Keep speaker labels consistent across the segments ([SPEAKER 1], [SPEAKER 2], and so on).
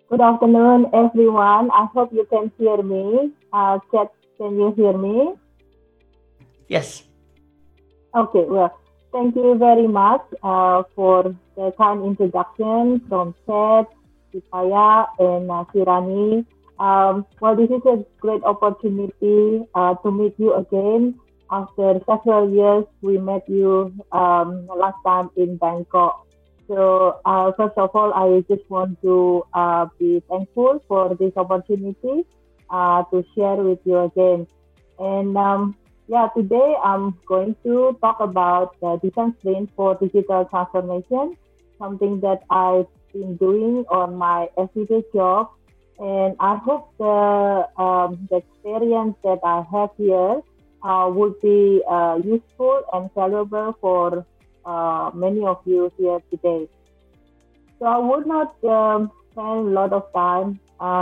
[SPEAKER 1] Good afternoon, everyone. I hope you can hear me. Kat, can you hear me?
[SPEAKER 2] Yes.
[SPEAKER 1] Okay, well, thank you very much for the kind introduction from Kat, Sipaya, and Kirani. This is a great opportunity to meet you again. After several years, we met you last time in Bangkok. So, first of all, I just want to be thankful for this opportunity to share with you again. And yeah, today I'm going to talk about the design sprint for digital transformation, something that I've been doing on my everyday job. And I hope the experience that I have here would be useful and valuable for many of you here today. So I would not spend a lot of time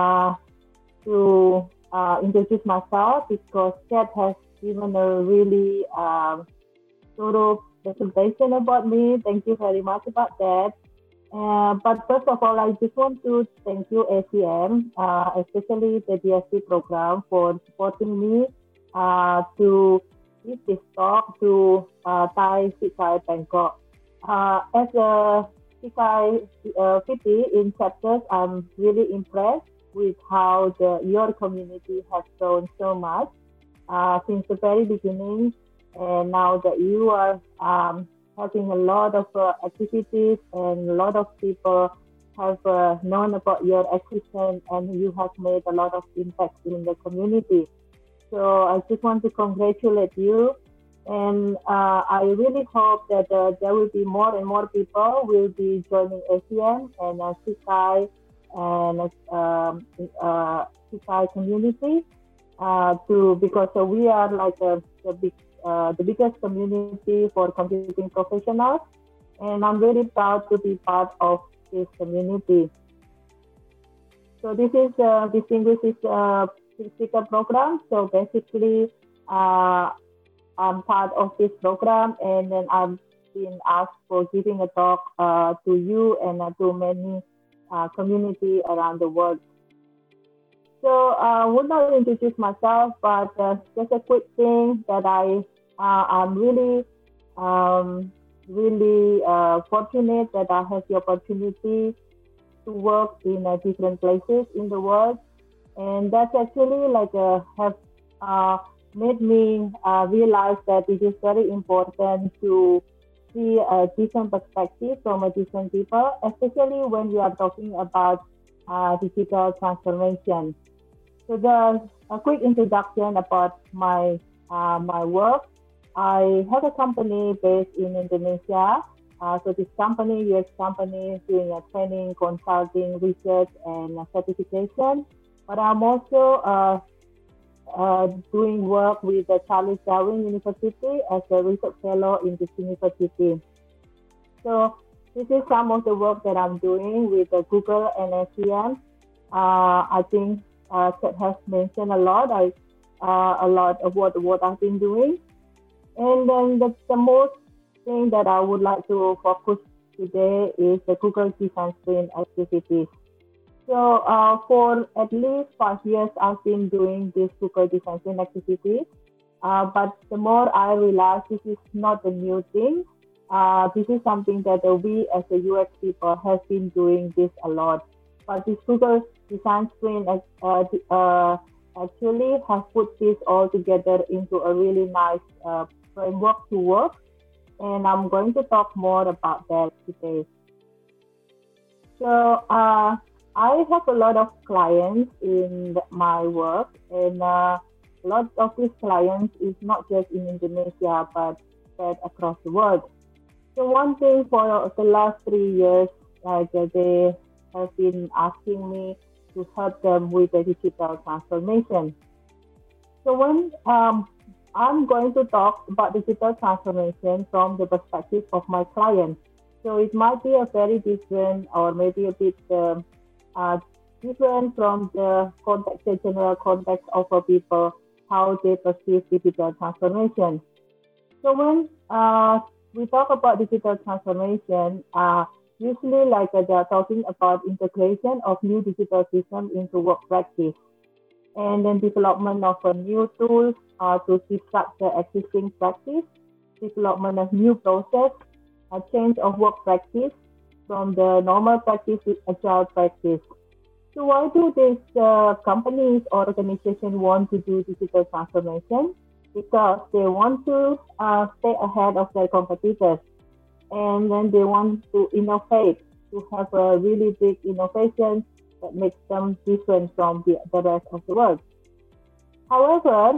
[SPEAKER 1] to introduce myself because Kat has given a really thorough presentation about me. Thank you very much about that. But first of all, I just want to thank you, ACM, especially the DSP program, for supporting me to give this talk to Thai Sikai Bangkok. As a Sikai city in chapters, I'm really impressed with how your community has grown so much since the very beginning. And now that you are having a lot of activities and a lot of people have known about your existence and you have made a lot of impact in the community. So I just want to congratulate you. And I really hope that there will be more and more people will be joining ASEAN and Sikai and Sikai community to because we are like the biggest community for computing professionals, and I'm very proud to be part of this community. So this is distinguished speaker program. So basically, uh, I'm part of this program, and then I've been asked for giving a talk to you and to many community around the world. So I would not introduce myself, but just a quick thing that I'm um, really fortunate that I have the opportunity to work in different places in the world, and that's actually like have uh, made me realize that it is very important to see a different perspective from a different people, especially when we are talking about digital transformation. So the a quick introduction about my work. I have a company based in Indonesia. So this company, US company, doing a training, consulting, research, and certification. But I'm also doing work with the Charles Darwin University as a research fellow in this university. So this is some of the work that I'm doing with Google and SEM. I think Seth has mentioned a lot of what I've been doing. And then the most thing that I would like to focus today is the Google Design Sprint activities. So for at least 5 years, I've been doing this Google Design Sprint activity. But the more I realize this is not a new thing, this is something that we as a UX people have been doing this a lot. But this Google Design Sprint actually has put this all together into a really nice framework to work. And I'm going to talk more about that today. So I have a lot of clients in my work, and a lot of these clients is not just in Indonesia but spread across the world. So one thing for the last 3 years, like they have been asking me to help them with the digital transformation. So when I'm going to talk about digital transformation from the perspective of my client. So it might be a very different or maybe a bit uh, different from the context, the general context of people, how they perceive digital transformation. So when we talk about digital transformation, usually they are talking about integration of new digital systems into work practice, and then development of a new tools to disrupt the existing practice, development of new process, a change of work practice from the normal practice to agile practice. So why do these companies or organizations want to do digital transformation? Because they want to stay ahead of their competitors, and then they want to innovate, to have a really big innovation that makes them different from the rest of the world. However,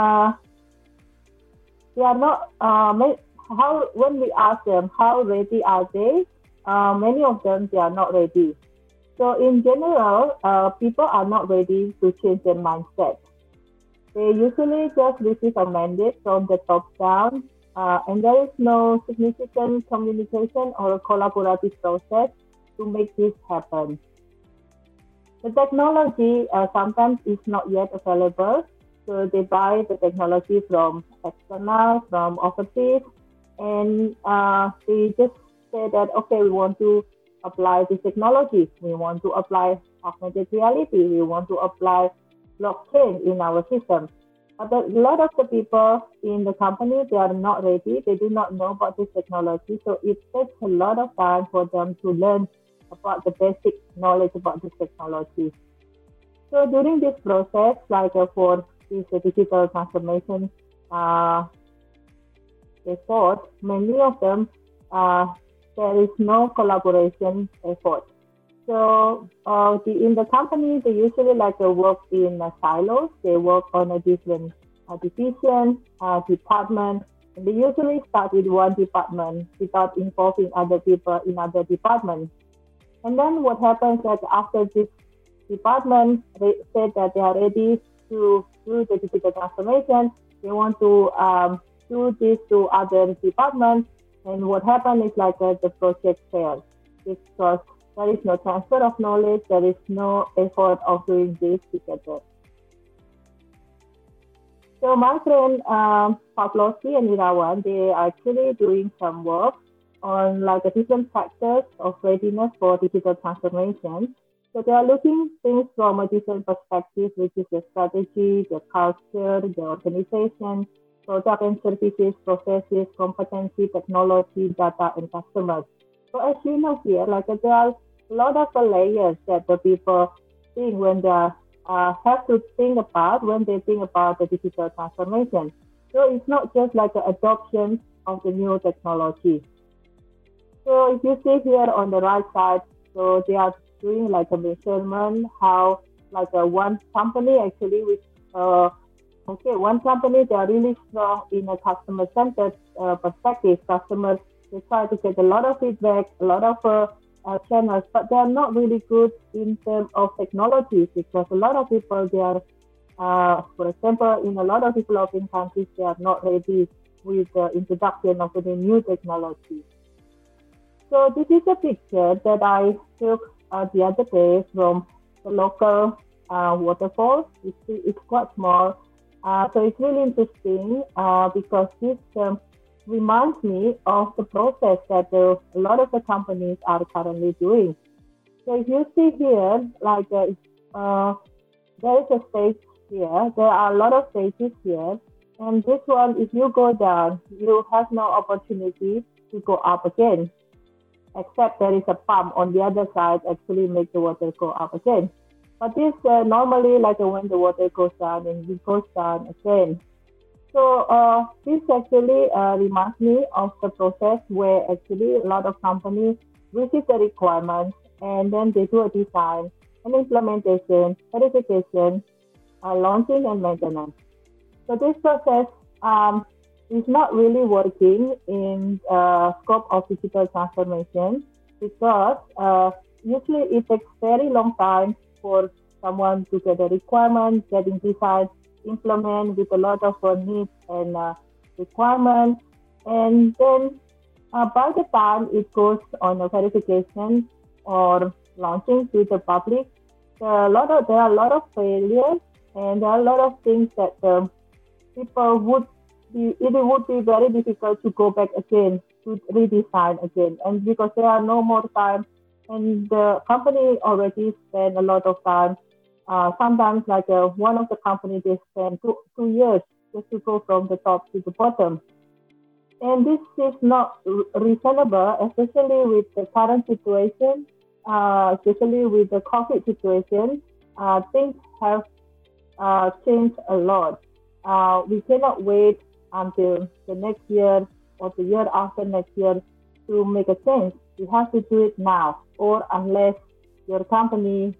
[SPEAKER 1] they are not. How when we ask them how ready are they, many of them they are not ready. So in general, people are not ready to change their mindset. They usually just receive a mandate from the top down, and there is no significant communication or a collaborative process to make this happen. The technology sometimes is not yet available, so they buy the technology from external, from overseas, and they just say that, okay, we want to apply this technology, we want to apply augmented reality, we want to apply blockchain in our system. But a lot of the people in the company, they are not ready, they do not know about this technology, so it takes a lot of time for them to learn about the basic knowledge about this technology. So during this process, for this digital transformation effort, many of them, there is no collaboration effort. So in the company, they usually work in silos. They work on a different division, department, and they usually start with one department without involving other people in other departments. And then what happens that after this department said that they are ready to do the digital transformation, they want to do this to other departments, and what happens is the project fails because there is no transfer of knowledge, there is no effort of doing this together. So my friend Pavlovsky and Irawan, they are actually doing some work on the different factors of readiness for digital transformation. So they are looking things from a different perspective, which is the strategy, the culture, the organization, product and services, processes, competency, technology, data, and customers. So as you know here, there are a lot of layers that the people think when they have to think about when they think about the digital transformation. So it's not just an adoption of the new technology. So if you see here on the right side, so they are doing a measurement how one company actually which one company they are really strong in a customer centered perspective. Customers, they try to get a lot of feedback, a lot of channels, but they are not really good in terms of technology because a lot of people they are for example in a lot of developing countries they are not ready with the introduction of the new technology. So this is a picture that I took the other day from the local waterfall. It's quite small. So it's really interesting because this reminds me of the process that a lot of the companies are currently doing. So if you see here, there is a stage here. There are a lot of stages here. And this one, if you go down, you have no opportunity to go up again, except there is a pump on the other side actually make the water go up again. But this normally when the water goes down and it goes down again. So this actually reminds me of the process where actually a lot of companies receive the requirements and then they do a design and implementation, verification, launching and maintenance. So this process is not really working in scope of digital transformation because usually it takes very long time for someone to get a requirement, getting design, implement with a lot of needs and requirements. And then by the time it goes on a verification or launching to the public, there are a lot of failures and there are a lot of things that people it would be very difficult to go back again to redesign again. And because there are no more time, and the company already spent a lot of time. Sometimes, one of the companies, they spend 2 years just to go from the top to the bottom. And this is not reasonable, especially with the current situation, especially with the COVID situation. Things have changed a lot. We cannot wait until the next year or the year after next year to make a change. You have to do it now, or unless your company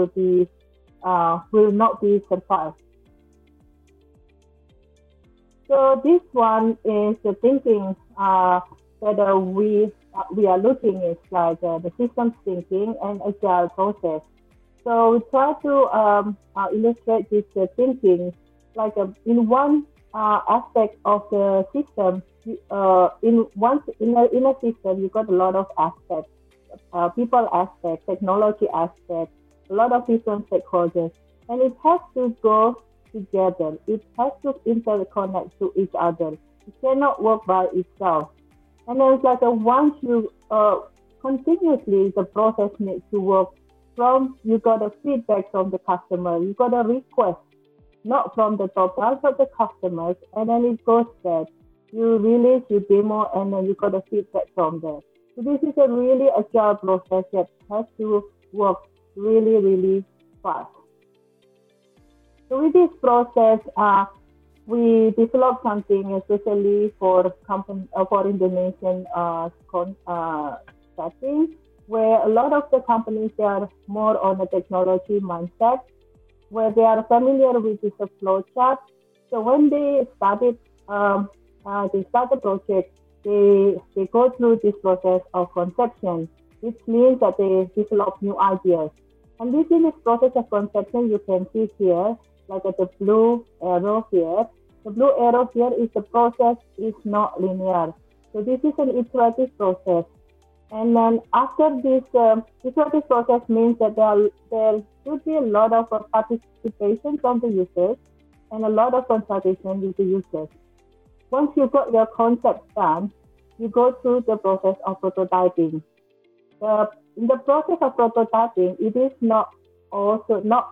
[SPEAKER 1] will not be survived. So this one is the thinking that we are looking is the systems thinking and agile process. So we try to illustrate this thinking in one aspect of the system. In a system, you got a lot of aspects, people aspect, technology aspect, a lot of different stakeholders, and it has to go together. It has to interconnect to each other. It cannot work by itself. And then it's once you continuously the process needs to work from you got a feedback from the customer, you got a request, not from the top down but the customers, and then it goes there. You release, you demo, and then you got a feedback from there. So this is a really agile process that has to work really, really fast. So with this process, we developed something especially for Indonesian setting, where a lot of the companies, they are more on a technology mindset, where they are familiar with this flow chart. So when they started the project, they go through this process of conception, which means that they develop new ideas. And this in this process of conception, you can see here, at the blue arrow here. The blue arrow here is the process is not linear. So this is an iterative process. And then after this iterative process means that there should be a lot of participation from the users and a lot of consultation with the users. Once you got your concept done, you go through the process of prototyping. In the process of prototyping, it is also not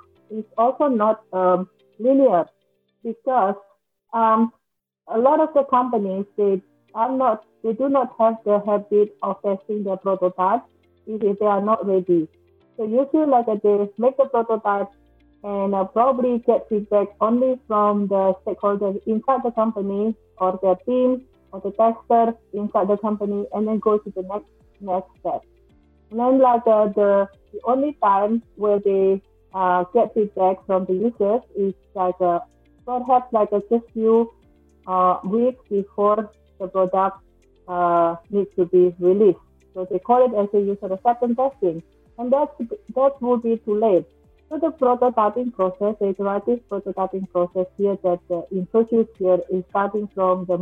[SPEAKER 1] linear, because a lot of the companies, they do not have the habit of testing their prototypes if they are not ready. So usually they make the prototype and probably get feedback only from the stakeholders inside the company or their team or the tester inside the company, and then go to the next step. And then the only time where they get feedback from the users is perhaps just few weeks before the product needs to be released. So they call it as a user acceptance testing, and that would be too late. So the prototyping process, the iterative prototyping process here that introduced here is starting from the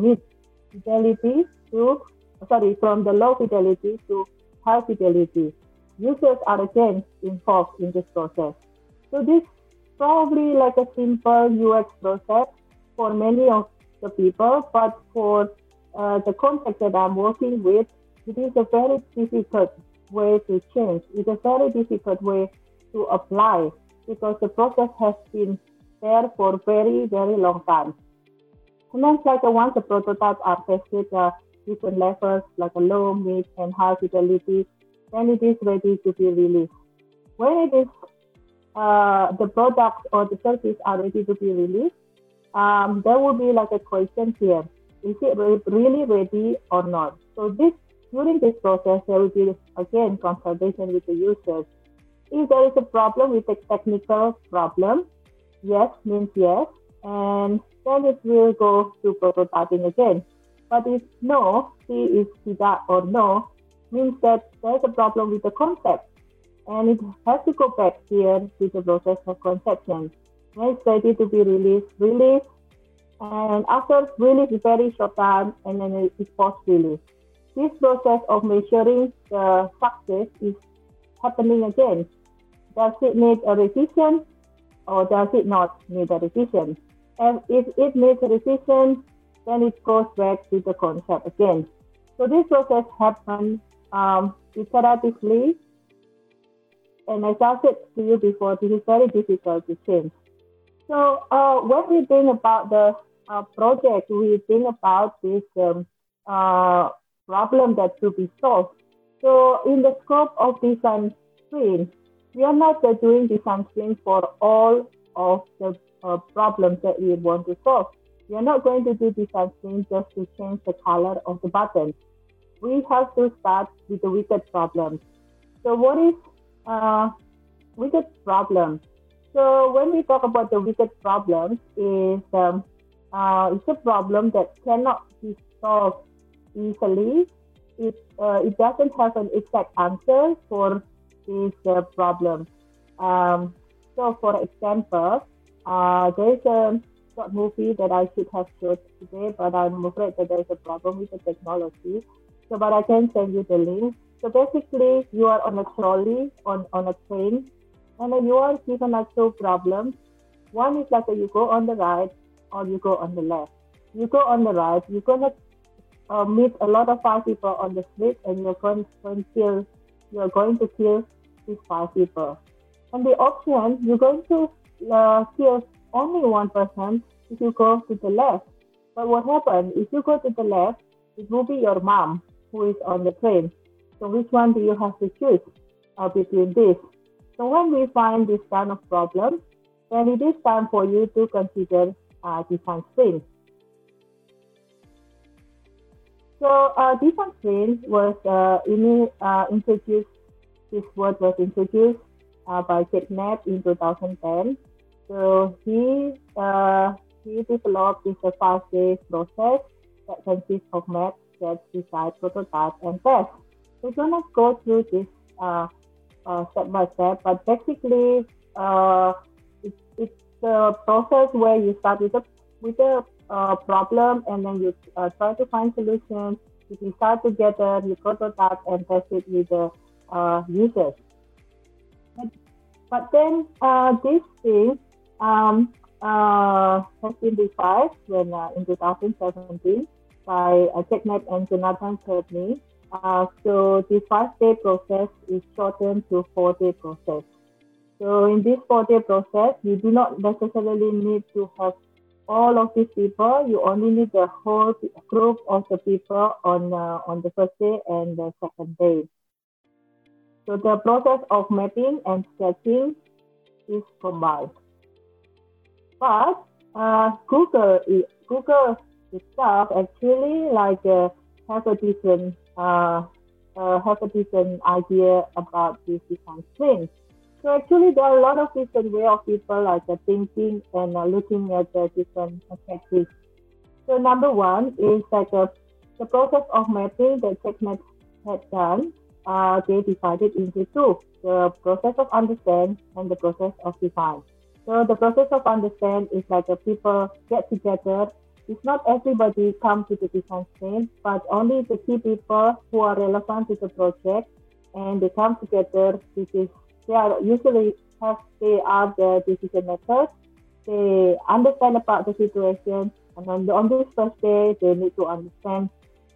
[SPEAKER 1] from the low fidelity to high fidelity. Users are again involved in this process. So this probably a simple UX process for many of the people, but for the context that I'm working with, it is a very difficult way to change. It's a very difficult way to apply, because the process has been there for very, very long time. And then once the prototypes are tested, different levels a low, mid, and high fidelity, then it is ready to be released. When it is the product or the service are ready to be released, there will be a question here: is it really ready or not? So during this process, there will be again consultation with the users. If there is a problem with the technical problem, yes means yes, and then it will go to prototyping again. But if no, C is tidak or no, means that there's a problem with the concept, and it has to go back here to the process of conception. When it's ready to be released, and after release is very short time, and then it's post-release. This process of measuring the success is happening again. Does it need a revision or does it not need a revision? And if it needs a revision, then it goes back to the concept again. So this process happens iteratively, and as I said to you before, this is very difficult to change. So when we think about the project, we think about this problem that to be solved. So in the scope of design sprint, we are not doing design sprint for all of the problems that we want to solve. We are not going to do design sprint just to change the color of the button. We have to start with the wicked problem. So what is uh, wicked problem? So when we talk about the wicked problems, it's a problem that cannot be solved easily. It doesn't have an exact answer for this problem. Um, so for example, there is a short movie that I should have showed today, but I'm afraid that there is a problem with the technology. So, but I can send you the link. So basically, you are on a trolley on a train, and then you are given like two problems. One is like you go on the right or you go on the left. You go on the right, you're gonna meet a lot of five people on the street, and you're going to kill these five people. And the option, you're going to kill only one person if you go to the left. But what happens if you go to the left? It will be your mom who is on the train. So which one do you have to choose between this? So when we find this kind of problem, then it is time for you to consider design sprint. So design sprint was introduced. This word was introduced by Jack Knapp in 2010. So he developed this 5 day process that consists of map, sketch, design, prototype, and test. We're gonna go through this step by step, but basically it's a process where you start with a problem, and then you try to find solutions. You decide together, you prototype and test it with the users. But, but then this thing has been revised when in 2017 by Jack Knapp and Jonathan Courtney. So the 5 day process is shortened to 4 day process. So in this 4 day process, you do not necessarily need to have all of these people. You only need the whole group of the people on the first day and the second day. So the process of mapping and sketching is combined. But Google itself actually have a different idea about this design sprint. So actually, there are a lot of different way of people thinking and looking at the different perspectives. So number one is the process of mapping that Jack Knapp had done. They divided into two: the process of understand and the process of define. So the process of understand is people get together. It's not everybody come to the design sprint, but only the key people who are relevant to the project, and they come together because they are the decision makers. They understand about the situation, and on this first day, they need to understand,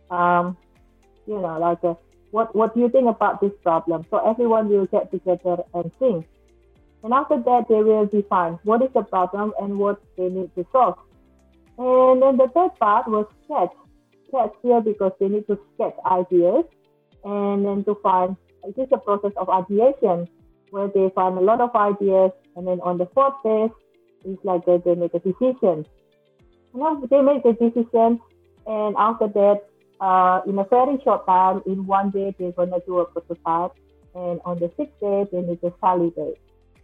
[SPEAKER 1] what do you think about this problem? So everyone will get together and think. And after that, they will define what is the problem and what they need to solve. And then the third part was sketch. Sketch here because they need to sketch ideas, and then to find, it is a process of ideation where they find a lot of ideas, and then on the fourth phase, it's they make a decision. They make the decision, and after that, in a very short time, in 1 day, they're gonna do a prototype, and on the 6th day, they need to validate.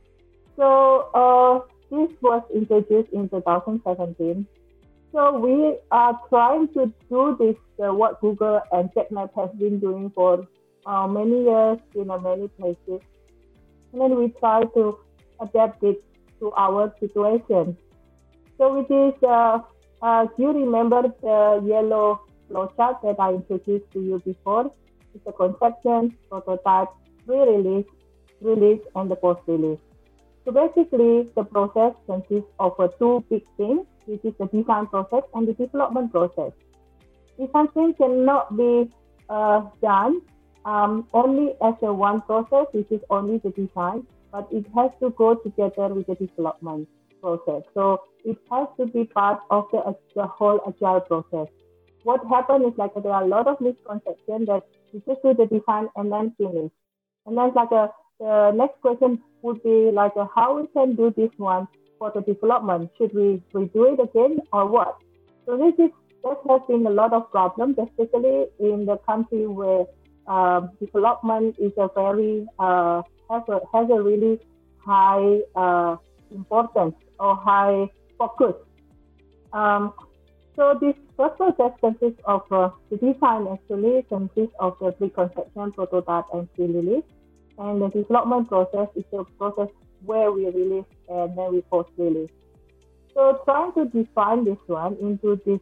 [SPEAKER 1] So this was introduced in 2017. So we are trying to do this, what Google and Jack Knapp have been doing for many years in many places. And then we try to adapt it to our situation. So with this, do you remember the yellow flowchart that I introduced to you before? It's the conception, prototype, pre-release, release, and the post-release. So basically, the process consists of two big things, which is the design process and the development process. Design sprint cannot be done only as a one process, which is only the design, but it has to go together with the development process. So it has to be part of the whole agile process. What happened is like there are a lot of misconceptions that you just do the design and then finish. And then the next question would be like how we can do this one for the development. Should we redo it again or what? So that has been a lot of problems, especially in the country where development is a very has a really high importance or high focus. Um, so this first process consists of the design actually consists of the pre-conception, prototype, and pre-release. And the development process is the process where we release and then we post-release. So trying to define this one into this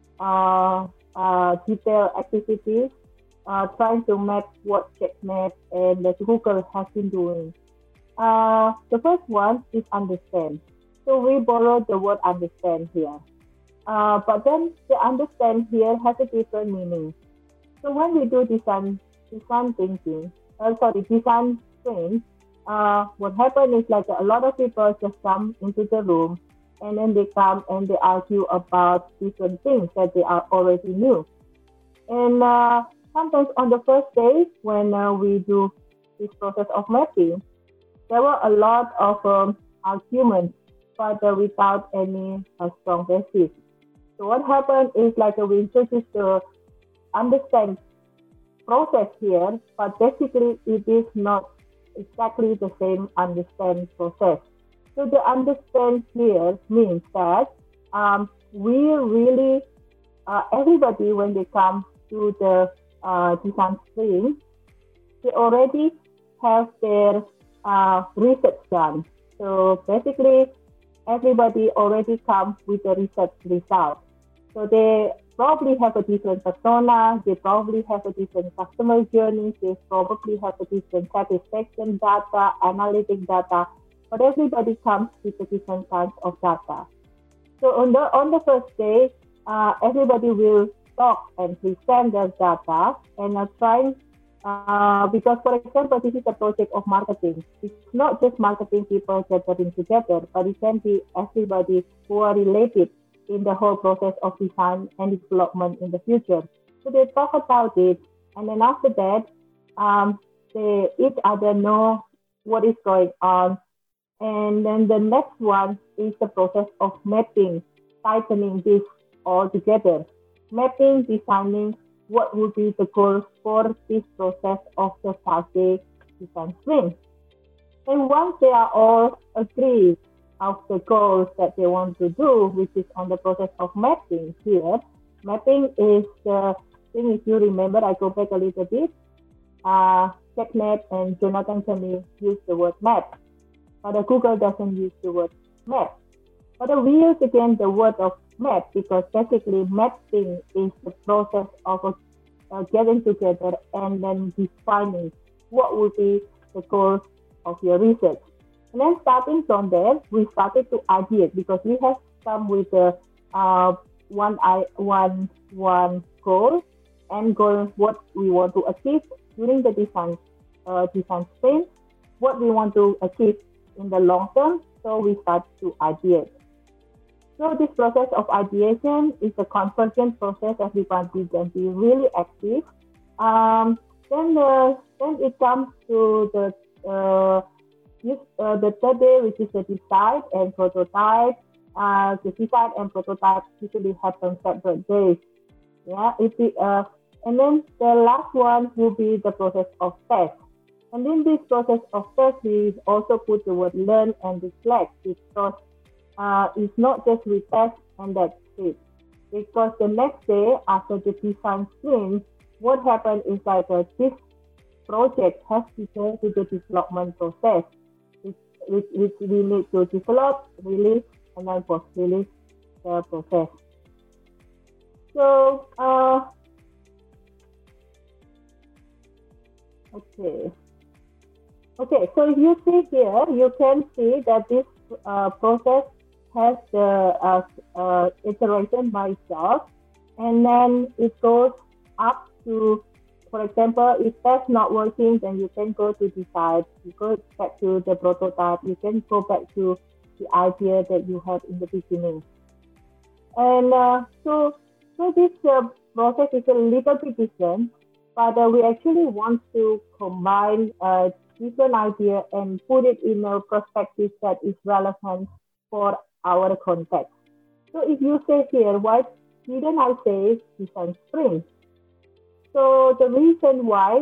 [SPEAKER 1] detailed activities, trying to map what CheckMate and the Google has been doing. The first one is understand. So we borrowed the word understand here. But then the understand here has a different meaning. So when we do design thinking, design sprint, what happens is like a lot of people just come into the room and then they come and they argue about different things that they are already knew. And sometimes on the first day when we do this process of mapping, there were a lot of arguments, but without any strong basis. So what happened is like we introduced the understand process here, but basically it is not exactly the same understand process. So the understand here means that we really, everybody when they come to the design sprint, they already have their research done. So basically everybody already comes with the research result. So they probably have a different persona, they probably have a different customer journey, they probably have a different satisfaction data, analytic data, but everybody comes with a different kinds of data. So on the first day, everybody will talk and present their data and trying because, for example, this is a project of marketing. It's not just marketing people gathering together, but it can be everybody who are related in the whole process of design and development in the future. So they talk about it, and then after that, they each other know what is going on. And then the next one is the process of mapping, tightening this all together. Mapping, designing what would be the goals for this process of the 5-day design sprint. And once they are all agreed of the goals that they want to do, which is on the process of mapping here. Mapping is the thing, if you remember, I go back a little bit. CheckMate and Jonathan Kenney use the word map, but Google doesn't use the word map. But we use again the word of map because basically mapping is the process of getting together and then defining what would be the goals of your research. And then starting from there, we started to ideate because we have come with a one goal and goal what we want to achieve during the design sprint, what we want to achieve in the long term. So we start to ideate. So this process of ideation is a convergent process. Everybody can be really active. Then it comes to the third day, which is the design and prototype. The design and prototype usually happen separate days. Yeah, and then the last one will be the process of test. And in this process of test, we also put the word learn and reflect because it's not just we test and that's it. Because the next day after the design sprint, what happened is that this project has to go to the development process, which we need to develop, release, and then post-release the process. So, okay. So if you see here, you can see that this process has the iteration by itself, and then it goes up to For example, if that's not working, then you can go to design, you go back to the prototype, you can go back to the idea that you had in the beginning. And so this process is a little bit different, but we actually want to combine different idea and put it in a perspective that is relevant for our context. So if you say here, why didn't I say design sprint? So the reason why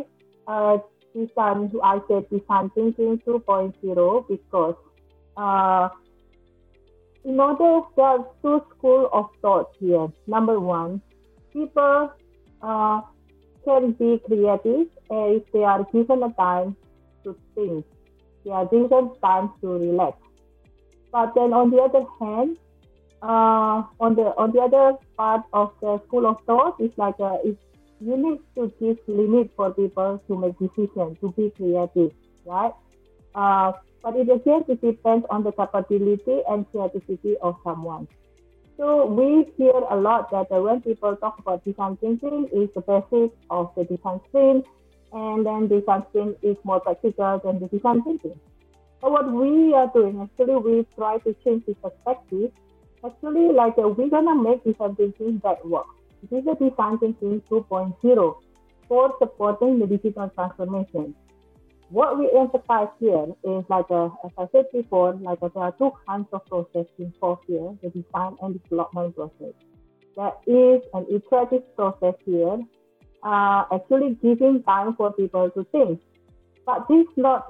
[SPEAKER 1] I said design thinking 2.0 because uh, in order, there are two schools of thought here. Number one, people uh, can be creative if they are given a time to think. They are given time to relax. But then on the other hand, on the other part of the school of thought is like you need to give limit for people to make decisions, to be creative, right? Uh, but it again it depends on the capability and creativity of someone. So we hear a lot that when people talk about design thinking is the basic of the design sprint, and then design sprint is more practical than the design thinking. But what we are doing, actually, we try to change the perspective. Actually, like we're gonna make design thinking that work. This is a design thinking 2.0 for supporting the digital transformation. What we emphasize here is like, as I said before, like there are two kinds of process involved here, the design and development process. There is an iterative process here, actually giving time for people to think. But this is not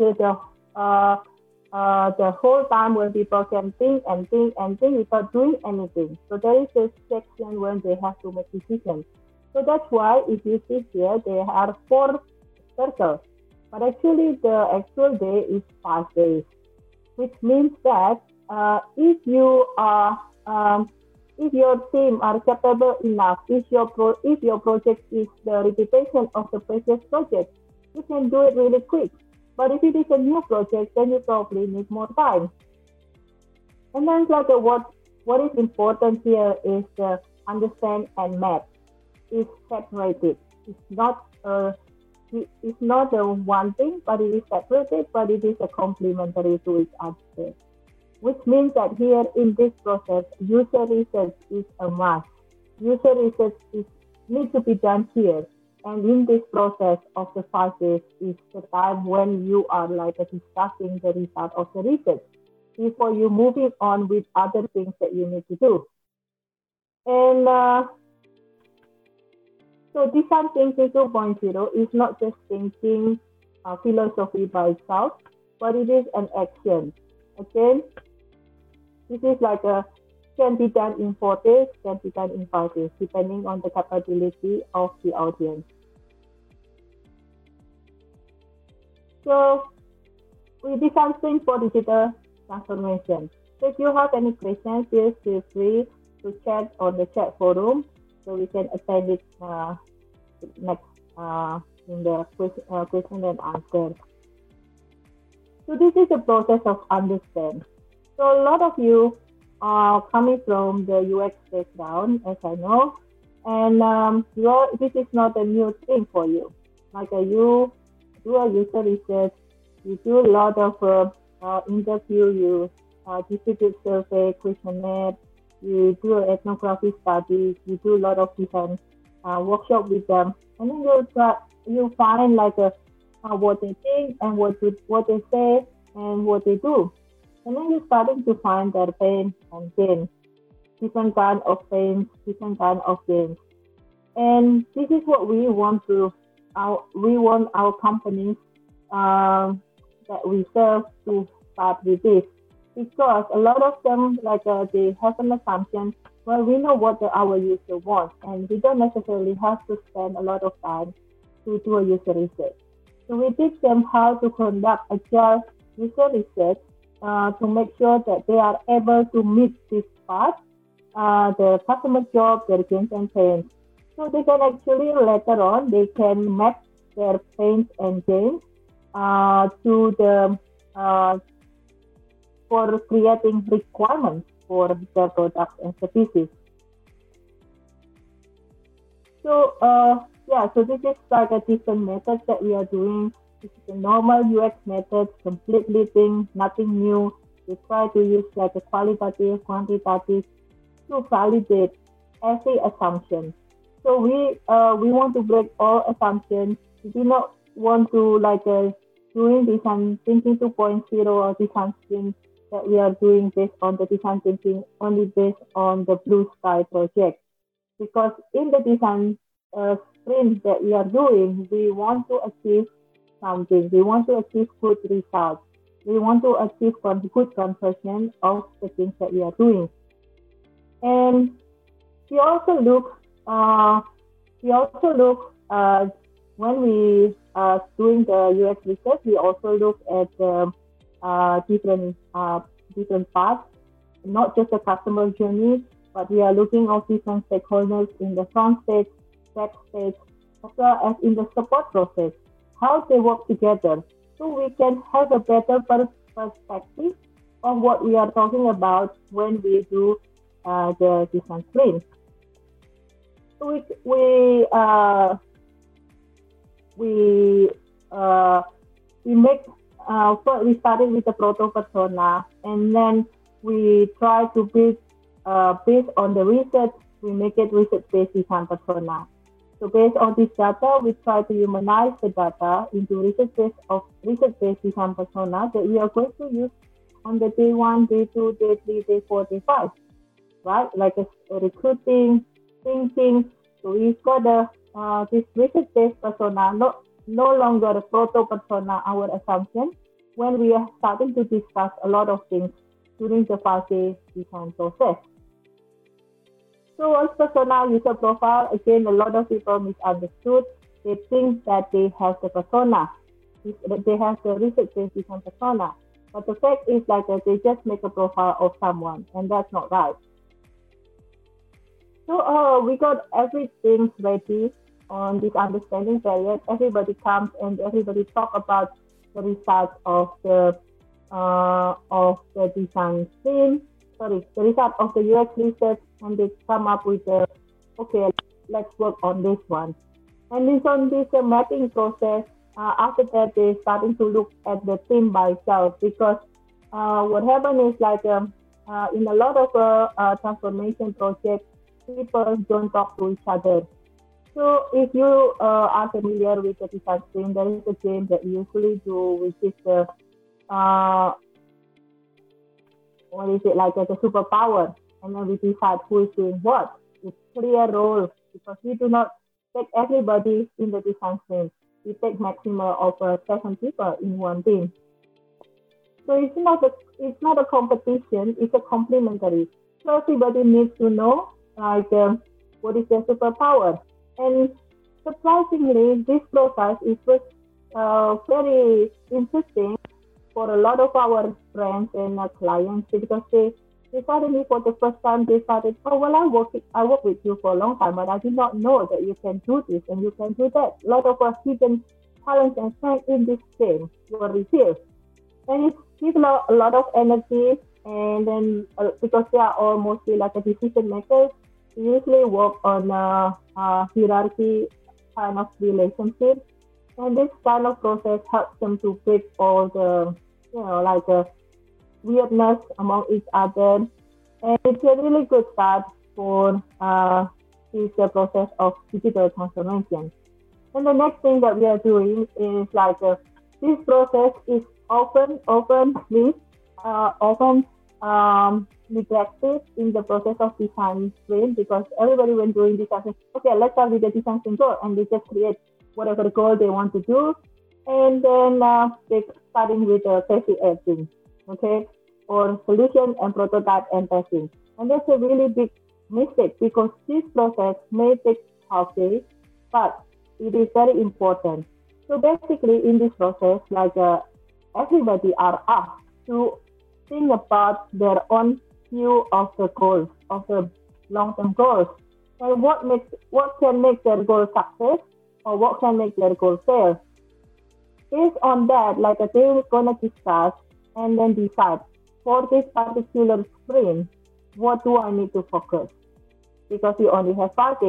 [SPEAKER 1] the whole time when people can think and think and think without doing anything. So there is a section when they have to make decisions. So that's why if you see here, there are four circles. But actually, the actual day is 5 days, which means that if your team are capable enough, if your project is the repetition of the previous project, you can do it really quick. But if it is a new project, then you probably need more time. And then like what is important here is the understand and map is separated. It's not it's not the one thing, but it is separated, but it is a complementary to each other. Which means that here in this process, user research is a must. User research needs to be done here. And in this process of the 5 days is the time when you are like discussing the result of the research before you moving on with other things that you need to do. And so design thinking 2.0 is not just thinking philosophy by itself, but it is an action. Okay, this is like can be done in 4 days, can be done in 5 days, depending on the capability of the audience. So we design things for digital transformation. So if you have any questions, please feel free to chat on the chat forum so we can attend it next in the question and answer. So this is the process of understand. So a lot of you are coming from the UX background, as I know, and this is not a new thing for you. Like you do a user research, you do a lot of interview, you distribute survey, questionnaire, you do an ethnographic study, you do a lot of different workshop with them, and then you find like what they think and what they say and what they do, and then you're starting to find their pain and gain, different kind of pains, different kind of gains, and this is what we want our companies that we serve to start with this, because a lot of them like they have an assumption. Well, we know what our user wants, and we don't necessarily have to spend a lot of time to do a user research. So we teach them how to conduct agile user research to make sure that they are able to meet this part, the customer job, their gains and pains. So they can actually later on, they can map their pains and gains to the for creating requirements for their products and services. So yeah, so this is like a different method that we are doing. This is a normal UX method, completely thing, nothing new. We try to use like a qualitative, quantitative to validate every assumption. So we want to break all assumptions. We do not want to like doing design thinking 2.0 or design sprint that we are doing based on the design thinking only based on the blue sky project. Because in the design sprint that we are doing, we want to achieve something. We want to achieve good results. We want to achieve good conversion of the things that we are doing. And we also look, uh, when we doing the UX research, we also look at different parts, not just the customer journey, but we are looking at different stakeholders in the front stage, back stage, as well as in the support process, how they work together, so we can have a better perspective of what we are talking about when we do the design sprint. So we uh, we make first we started with the proto persona, and then we try to build based on the research. We make it research based design persona. So based on this data, we try to humanize the data into research based design persona that we are going to use on the day one, day two, day three, day four, day five, right? Like a recruiting, thinking. So we've got this research-based persona, no longer a proto-persona, our assumption, when we are starting to discuss a lot of things during the 5-day design process. So what's persona user profile? Again, a lot of people misunderstood. They think that they have the persona, they have the research-based design persona. But the fact is like they just make a profile of someone, and that's not right. So we got everything ready on this understanding period. Everybody comes and everybody talk about the results of the design team. Sorry, the result of the UX research, and they come up with okay, let's work on this one. And it's on this mapping process. After that, they starting to look at the team by itself, because what happened is like in a lot of transformation projects, people don't talk to each other. So if you are familiar with the design sprint, there is a game that we usually do, which is the what is it like the superpower, and then we decide who is doing what. It's clear role, because we do not take everybody in the design sprint. We take maximum of 7 people in one team. So it's not a competition. It's a complementary. So everybody needs to know like what is their superpower. And surprisingly, this process is very interesting for a lot of our friends and clients, because they suddenly for the first time they started, oh well, I work with you for a long time, but I did not know that you can do this and you can do that. A lot of our hidden talents and strengths in this game were revealed, and it gives a lot of energy. And then because they are all mostly like a decision makers, we usually work on a hierarchy kind of relationship, and this kind of process helps them to break all the weirdness among each other, and it's a really good start for this process of digital transformation. And the next thing that we are doing is like this process is often neglected in the process of design sprint, because everybody when doing design sprint, okay, let's start with the design sprint goal, and they just create whatever the goal they want to do, and then they starting with testing everything, okay, or solution and prototype and testing. And that's a really big mistake, because this process may take half day, but it is very important. So basically in this process, like everybody are asked to think about their own view of the goals, of the long-term goals, and what can make their goal success, or what can make their goal fail. Based on that, like they're gonna discuss and then decide for this particular sprint, what do I need to focus? Because we only have 5 days.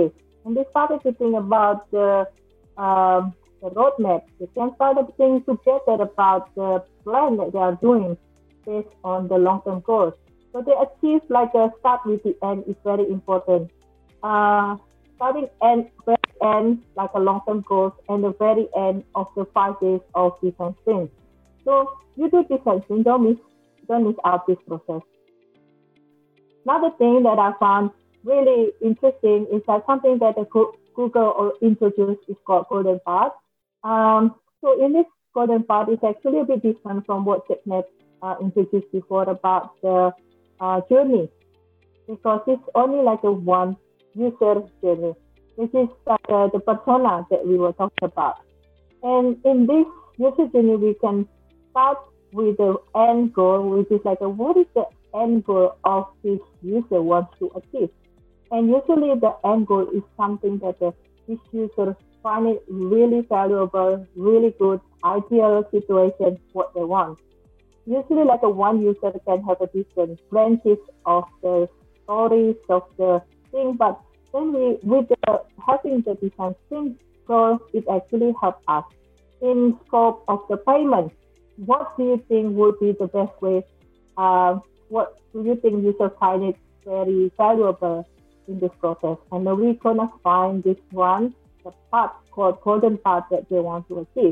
[SPEAKER 1] and they started to think about the roadmap. They can start to think together about the plan that they are doing based on the long-term goals. So they achieve like a start with the end is very important. Uh, Starting and very end like a long-term goals and the very end of the 5 days of design sprint. So you do design sprint, don't miss out this process. Another thing that I found really interesting is that something that the Google introduced is called Golden Path. So in this Golden Path, it's actually a bit different from what TechNet introduced before about the journey, because it's only like a one user journey, which is the persona that we were talking about. And in this user journey, we can start with the end goal, which is like what is the end goal of this user wants to achieve. And usually the end goal is something that this user find it really valuable, really good, ideal situation, what they want. Usually like a one user can have a different branches of the stories of the thing, but then with having the design sprint goal, it actually helps us in scope of the payment. What do you think would be the best way? What do you think users find it very valuable in this process? And then we're gonna find this one, the part called golden path that they want to achieve.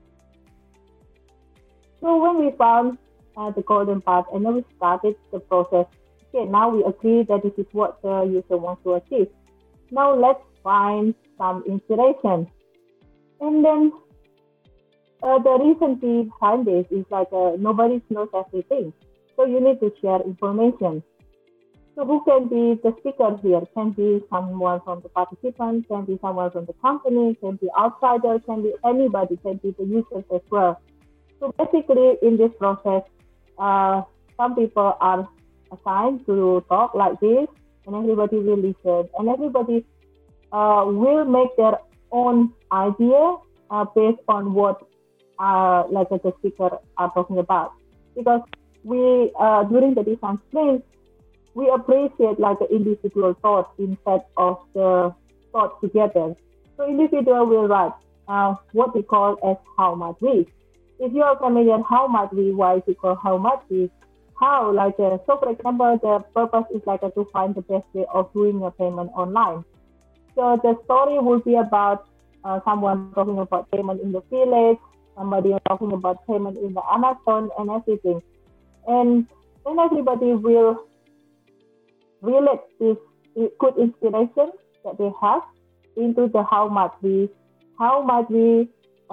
[SPEAKER 1] So when we found the golden path and then we started the process, okay, now we agree that this is what the user wants to achieve. Now let's find some inspiration. And then the reason behind this is like nobody knows everything. So you need to share information. So who can be the speaker here? Can be someone from the participant, can be someone from the company, can be outsider, can be anybody, can be the users as well. So basically in this process, some people are assigned to talk like this, and everybody will listen, and everybody will make their own idea based on what like the speaker are talking about. Because we during the design sprint, we appreciate like the individual thought instead of the thought together. So individual will write what we call as how much we. If you are familiar how much we, why is it called how much we? How like so for example, the purpose is like to find the best way of doing a payment online. So the story will be about someone talking about payment in the village, somebody talking about payment in the Amazon and everything. And then everybody will relate this good inspiration that they have into the how much we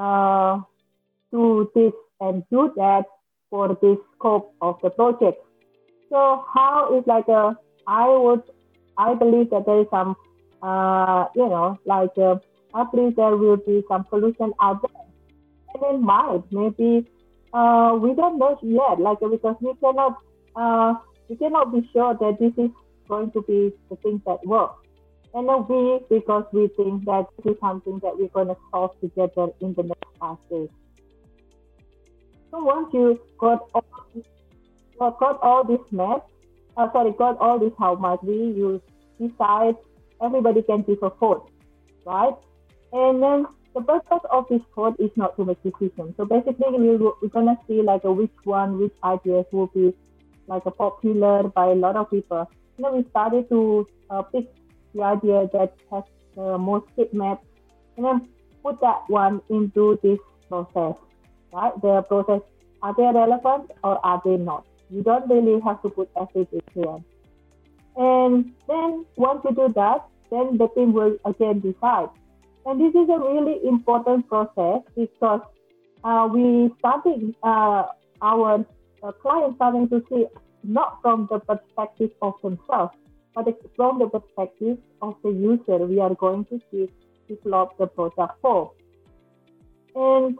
[SPEAKER 1] do this and do that for this scope of the project. So how is like I believe that there is some I believe there will be some solution out there. And then maybe we don't know yet, like because we cannot be sure that this is going to be the thing that works. And then because we think that this is something that we're going to solve together in the next 5 days. So once you got all this math, got all this how much you decide, everybody can give a vote, right? And then the purpose of this vote is not to make decisions. So basically, we're gonna see like which ideas will be like popular by a lot of people. And then we started to pick the idea that has the most hit map, and then put that one into this process, right? The process, are they relevant or are they not? You don't really have to put everything here. And then once you do that, then the team will again decide. And this is a really important process because we starting our clients starting to see not from the perspective of themselves, but from the perspective of the user we are going to develop the product for. And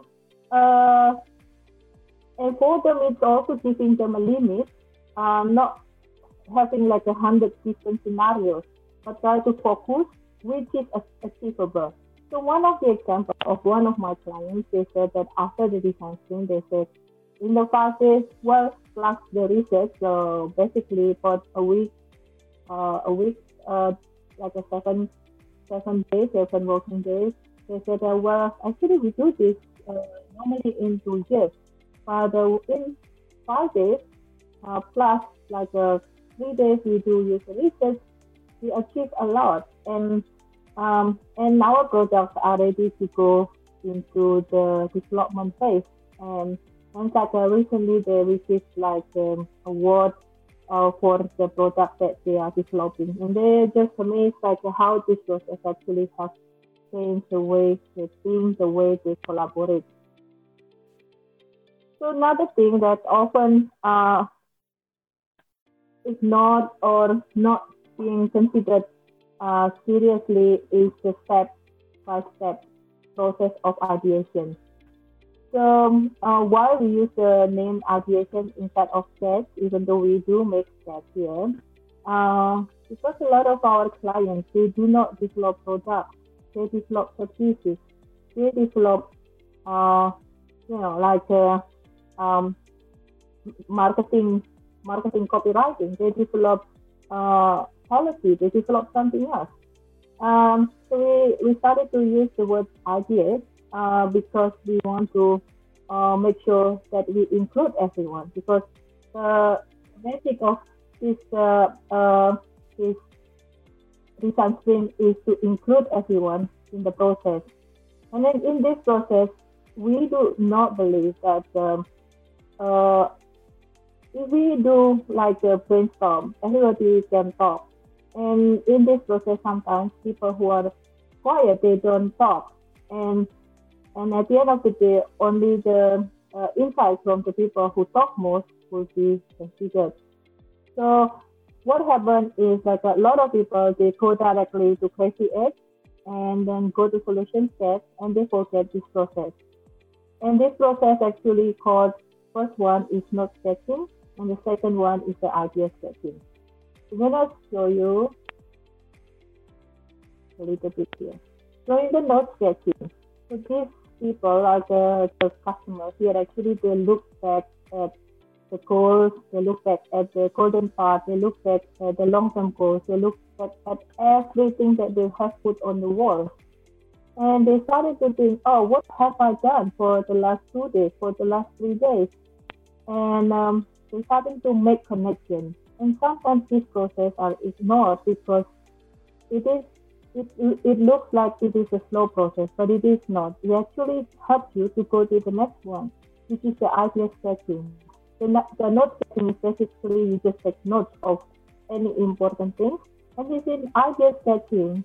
[SPEAKER 1] for them, it's also giving them a limit, not having like 100 different scenarios, but try to focus which is achievable. So one of the examples of one of my clients, they said that after the design sprint, they said in the 5 days, well, plus the research, so basically for a week, like a 7 days, 7 working days. They said, well, actually we do this normally in 2 years, but in 5 days plus like 3 days we do user research, we achieve a lot, and our products are ready to go into the development phase. And like recently they received like award for the product that they are developing, and they're just amazed like how this process actually has changed the way they think, the way they collaborate. So another thing that often ignored or not being considered seriously is the step-by-step process of ideation. So why we use the name ideation instead of sketch, even though we do make sketch here, because a lot of our clients, they do not develop products, they develop services, they develop, uh, like um, marketing, marketing copywriting, they develop policy, they develop something else. So we started to use the word ideas because we want to make sure that we include everyone, because the basic of this this design sprint is to include everyone in the process. And then in this process, we do not believe that uh, if we do like a brainstorm, everybody can talk. And in this process, sometimes people who are quiet, they don't talk. And and at the end of the day, only the insights from the people who talk most will be considered. So what happened is like a lot of people, they go directly to Crazy Edge and then go to solution step and they forget this process. And this process actually called, first one is note sketching and the second one is the idea sketching. I'm gonna show you a little bit here. So in the note sketching, so these people, like the customers here, actually they look back at the goals, they look back at the golden part, they look back at the long-term goals, they look back at everything that they have put on the wall. And they started to think, oh, what have I done for the last 2 days, for the last 3 days? And they started to make connections. And sometimes these processes are ignored because it is it looks like it is a slow process, but it is not. It actually helps you to go to the next one, which is the idea sketching. The note sketching is basically you just take notes of any important thing. And within idea sketching,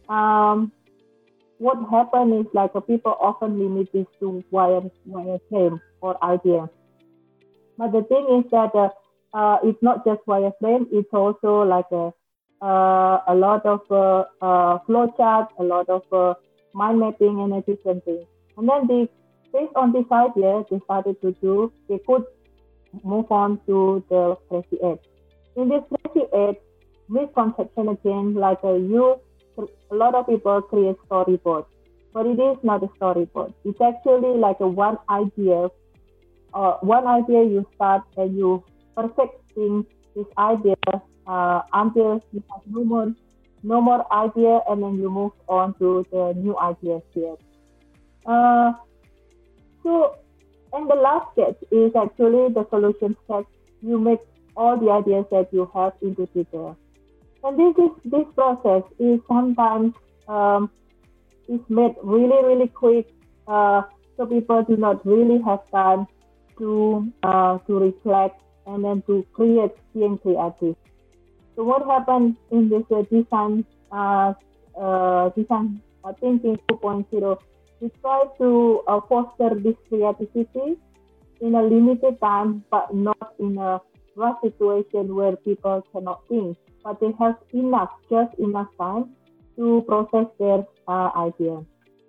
[SPEAKER 1] what happens is like people often limit this to wireframe or idea. But the thing is that it's not just wireframe; it's also like a lot of flow chart, a lot of mind mapping, and a different thing. And then based on this idea, they started to do. They could move on to the Crazy Edge. In this Crazy Edge, misconception again, like a lot of people create storyboard, but it is not a storyboard. It's actually like a one idea you start and you perfecting this idea until you have no more idea, and then you move on to the new ideas here. Uh, so, and the last sketch is actually the solution sketch. You make all the ideas that you have into detail. And this process is sometimes is made really quick, so people do not really have time to reflect and then to create CNC artists. So what happened in this design thinking 2.0? We try to foster this creativity in a limited time, but not in a rush situation where people cannot think, but they have just enough time to process their idea.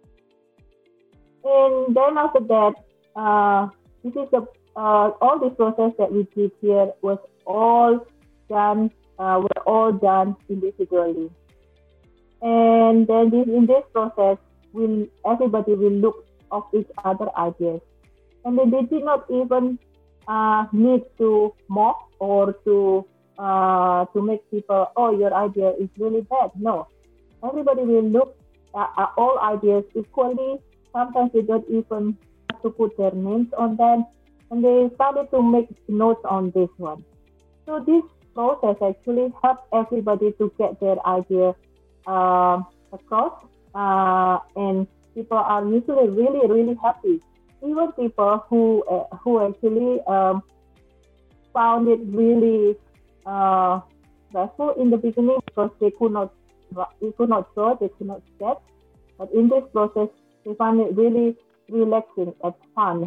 [SPEAKER 1] And then after that, this is all the process that we did here was all done were all done individually. And then in this process, everybody will look of each other ideas, and then they did not even need to mock or to make people, oh, your idea is really bad. No, everybody will look at all ideas equally. Sometimes they don't even have to put their names on them, and they started to make notes on this one. So this process actually helps everybody to get their idea across, and people are usually really really happy. Even people who actually found it really stressful in the beginning because they could not draw, they could not sketch. But in this process, they find it really relaxing and fun.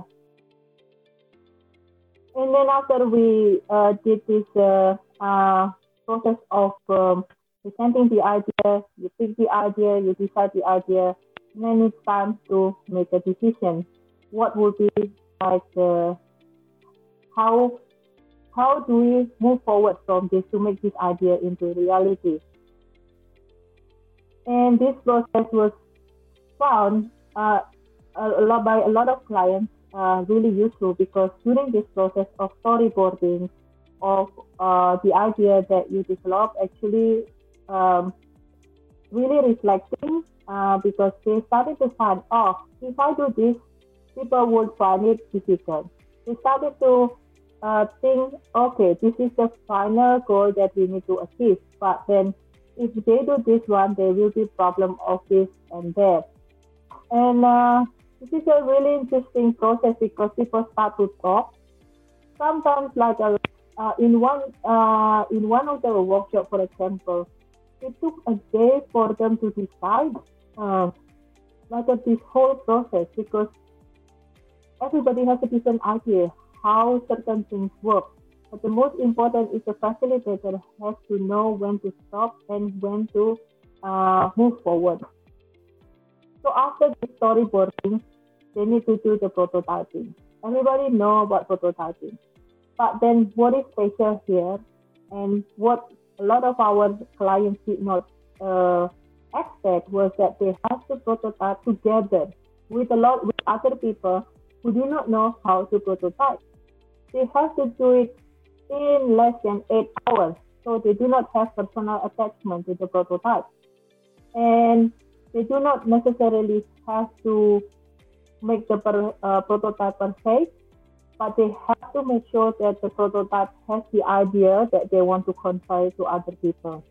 [SPEAKER 1] And then after we did this process of presenting the idea, you pick the idea, you decide the idea, and then it's time to make a decision. What would be like how do we move forward from this to make this idea into reality? And this process was found by a lot of clients really useful because during this process of storyboarding of the idea that you develop actually really reflecting because they started to find, oh, if I do this, people would find it difficult. They started to think, okay, this is the final goal that we need to achieve. But then if they do this one, there will be problem of this and that. And this is a really interesting process because people start to talk. Sometimes, like in one of the workshops, for example, it took a day for them to decide this whole process because everybody has a different idea how certain things work. But the most important is the facilitator has to know when to stop and when to move forward. So after the storyboarding, they need to do the prototyping. Everybody know about prototyping. But then what is special here and what a lot of our clients did not expect was that they have to prototype together with other people who do not know how to prototype. They have to do it in less than 8 hours. So they do not have personal attachment to the prototype. And they do not necessarily have to make the prototype perfect, but they have to make sure that the prototype has the idea that they want to convey to other people.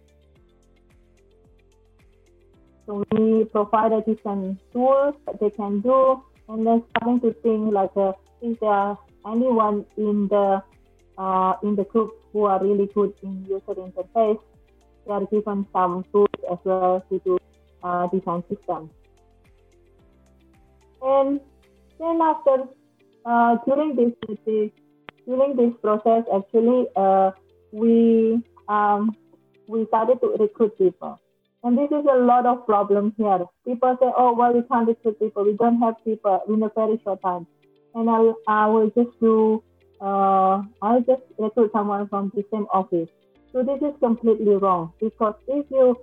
[SPEAKER 1] So we provided different tools that they can do, and then starting to think like, is there anyone in the group who are really good in user interface? They are given some tools as well to do design systems. And then after during this process, actually we started to recruit people. And this is a lot of problem here. People say, oh, well, we can't recruit people. We don't have people in a very short time. And I will just I'll just recruit someone from the same office. So this is completely wrong because if you,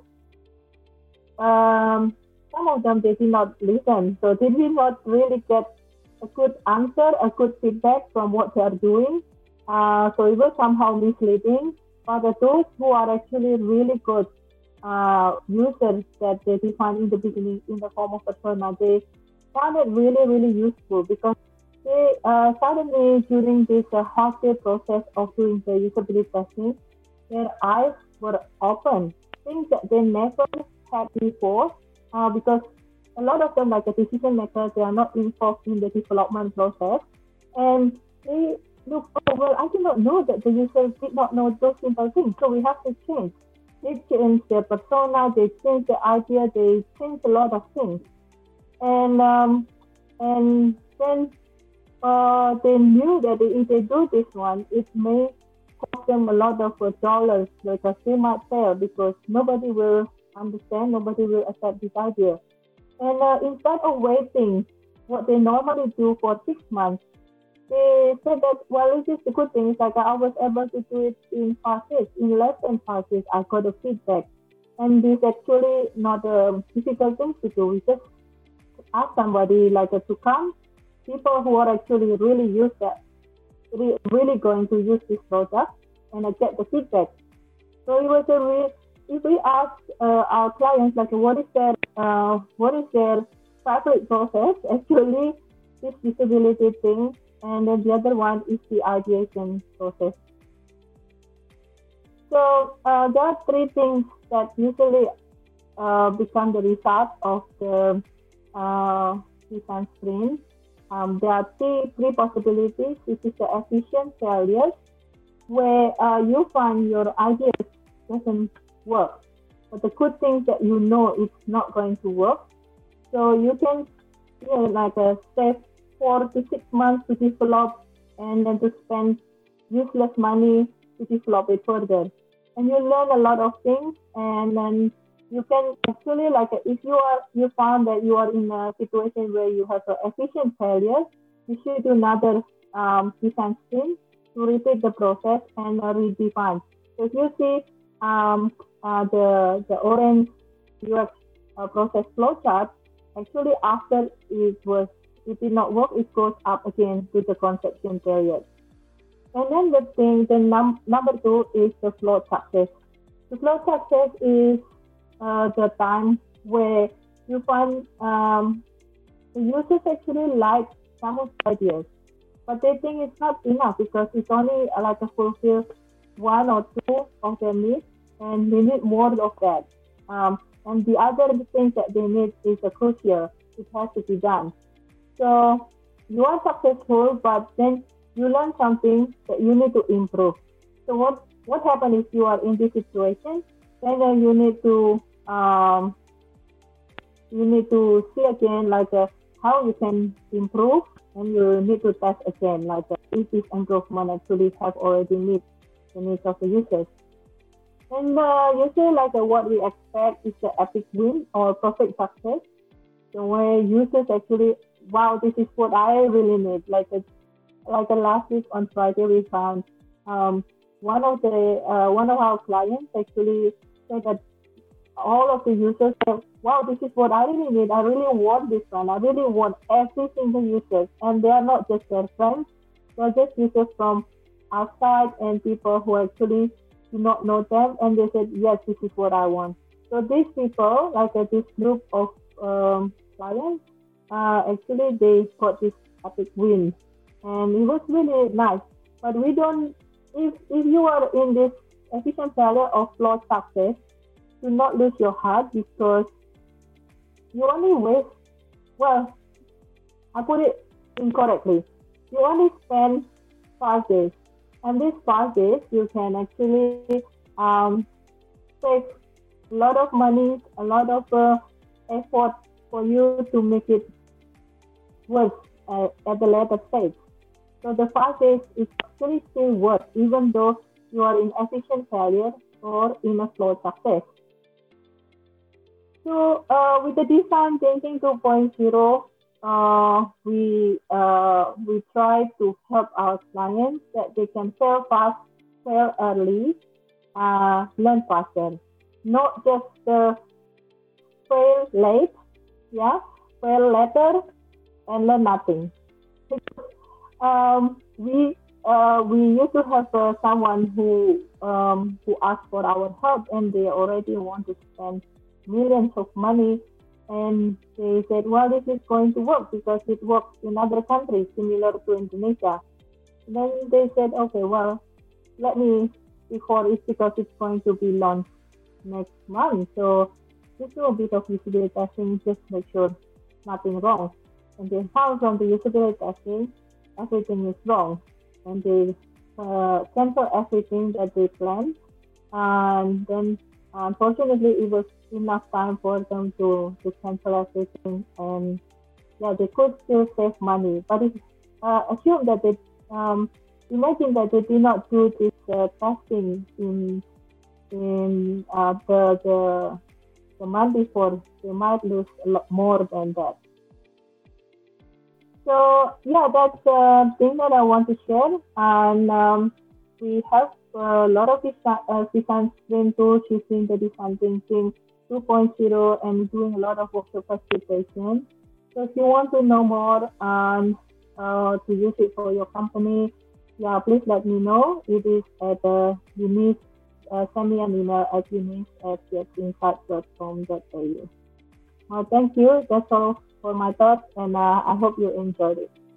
[SPEAKER 1] some of them, they did not listen. So they did not really get a good answer, a good feedback from what they are doing. So it was somehow misleading. But those who are actually really good users that they defined in the beginning in the form of persona, they found it really, really useful because they suddenly during this half-day process of doing the usability testing, their eyes were open, things that they never had before, because a lot of them, like the decision makers, they are not involved in the development process, and they look, oh, well, I did not know that the users did not know those simple things, so we have to change. They change their persona, they change the idea, they change a lot of things. And then they knew that if they do this one, it may cost them a lot of dollars because they might fail because nobody will understand, nobody will accept this idea. And instead of waiting what they normally do for 6 months, they said that, well, this is the good thing. It's like I was able to do it in 5 days. In less than 5 days, I got a feedback. And this actually not a difficult thing to do. We just ask somebody like to come, people who are actually really really going to use this product and get the feedback. So it was if we ask our clients like what is their favorite process, actually this disability thing, and then the other one is the ideation process. So there are three things that usually become the result of the design sprint. There are three possibilities, which is the efficient failures, where you find your ideas doesn't work. But the good thing is that you know it's not going to work. So you can save 4 to 6 months to develop and then to spend useless money to develop it further. And you learn a lot of things, and then you can actually if you found that you are in a situation where you have an efficient failure, you should do another design sprint to repeat the process and redefine. So if you see the orange UX process flowchart, actually after it did not work, it goes up again to the conception period. And then the number two is the flow success. The flow success is the time where you find the users actually like some of the ideas, but they think it's not enough because it's only to fulfill one or two of their needs, and they need more of that. And the other things that they need is crucial. It has to be done. So you are successful, but then you learn something that you need to improve. So what happens if you are in this situation? Then you need to see again how you can improve, and you need to test again if this improvement actually have already meet the needs of the users. And usually what we expect is the epic win or perfect success. So where users actually, wow, this is what I really need. Last week on Friday, we found one of our clients actually said that all of the users said, wow, this is what I really need. I really want this one. I really want every single user. And they are not just their friends. They are just users from outside and people who actually do not know them. And they said, yes, this is what I want. So these people, this group of clients, actually they got this epic win. And it was really nice. But we don't, if you are in this efficient failure or flawed success, do not lose your heart, because you only waste, well, I put it incorrectly. You only spend 5 days. And these 5 days, you can actually save a lot of money, a lot of effort for you to make it work at the later stage. So the 5 days is actually still worth, even though you are in efficient failure or in a flawed success. So with the design thinking 2.0, we try to help our clients that they can fail fast, fail early, learn faster. Not just fail late, fail later and learn nothing. We used to have someone who asked for our help, and they already want to spend millions of money, and they said, well, this is going to work because it works in other countries similar to Indonesia. Then they said, okay, well, let me, it's because it's going to be launched next month, so just do a bit of usability testing, just make sure nothing wrong. And they found from the usability testing everything is wrong, and they cancel everything that they planned, and then unfortunately it was enough time for them to cancel everything, and they could still save money. But it's assume that they imagine that they did not do this testing in the month before. They might lose a lot more than that. So that's the thing that I want to share. And we have a lot of design sprint tools using the design thinking 2.0 and doing a lot of workshop facilitation. So if you want to know more and to use it for your company, please let me know. It is at send me an email at eunice@getsinsight.com.au. Thank you. That's all for my thoughts, and I hope you enjoyed it.